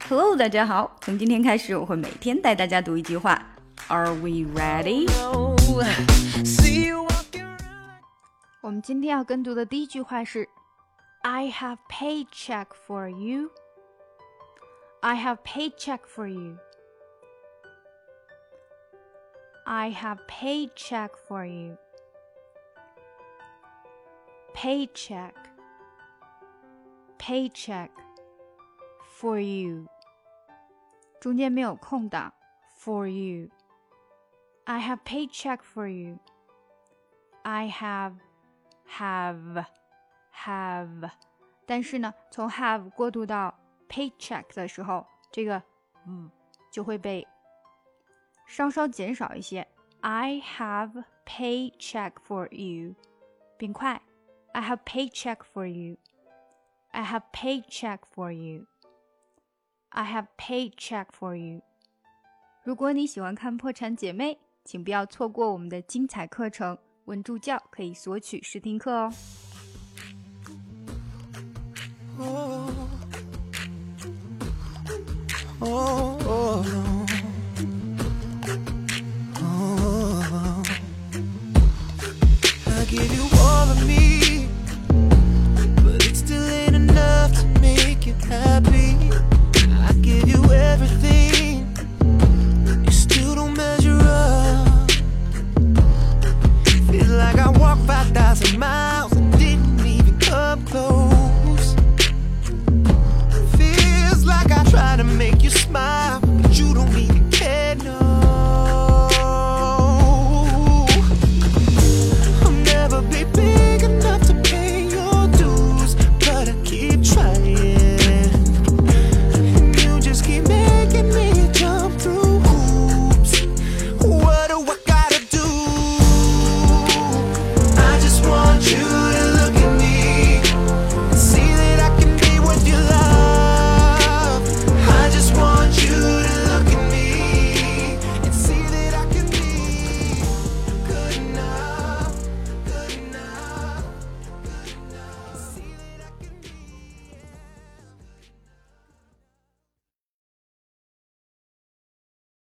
Hello， 大家好，从今天开始我会每天带大家读一句话。Are we ready? 我们今天要跟读的第一句话是 I have paycheck for you. I have paycheck for you. I have paycheck for you. Paycheck, paycheck for you. 中间没有空档 for you. I have paycheck for you. I have,但是呢，从 have 过渡到 paycheck 的时候，这个就会被稍稍减少一些。I have paycheck for you. 并快 I have paycheck for you. I have paycheck for you. I have paycheck for you. 如果你喜欢看破产姐妹，请不要错过我们的精彩课程，问助教可以索取试听课哦。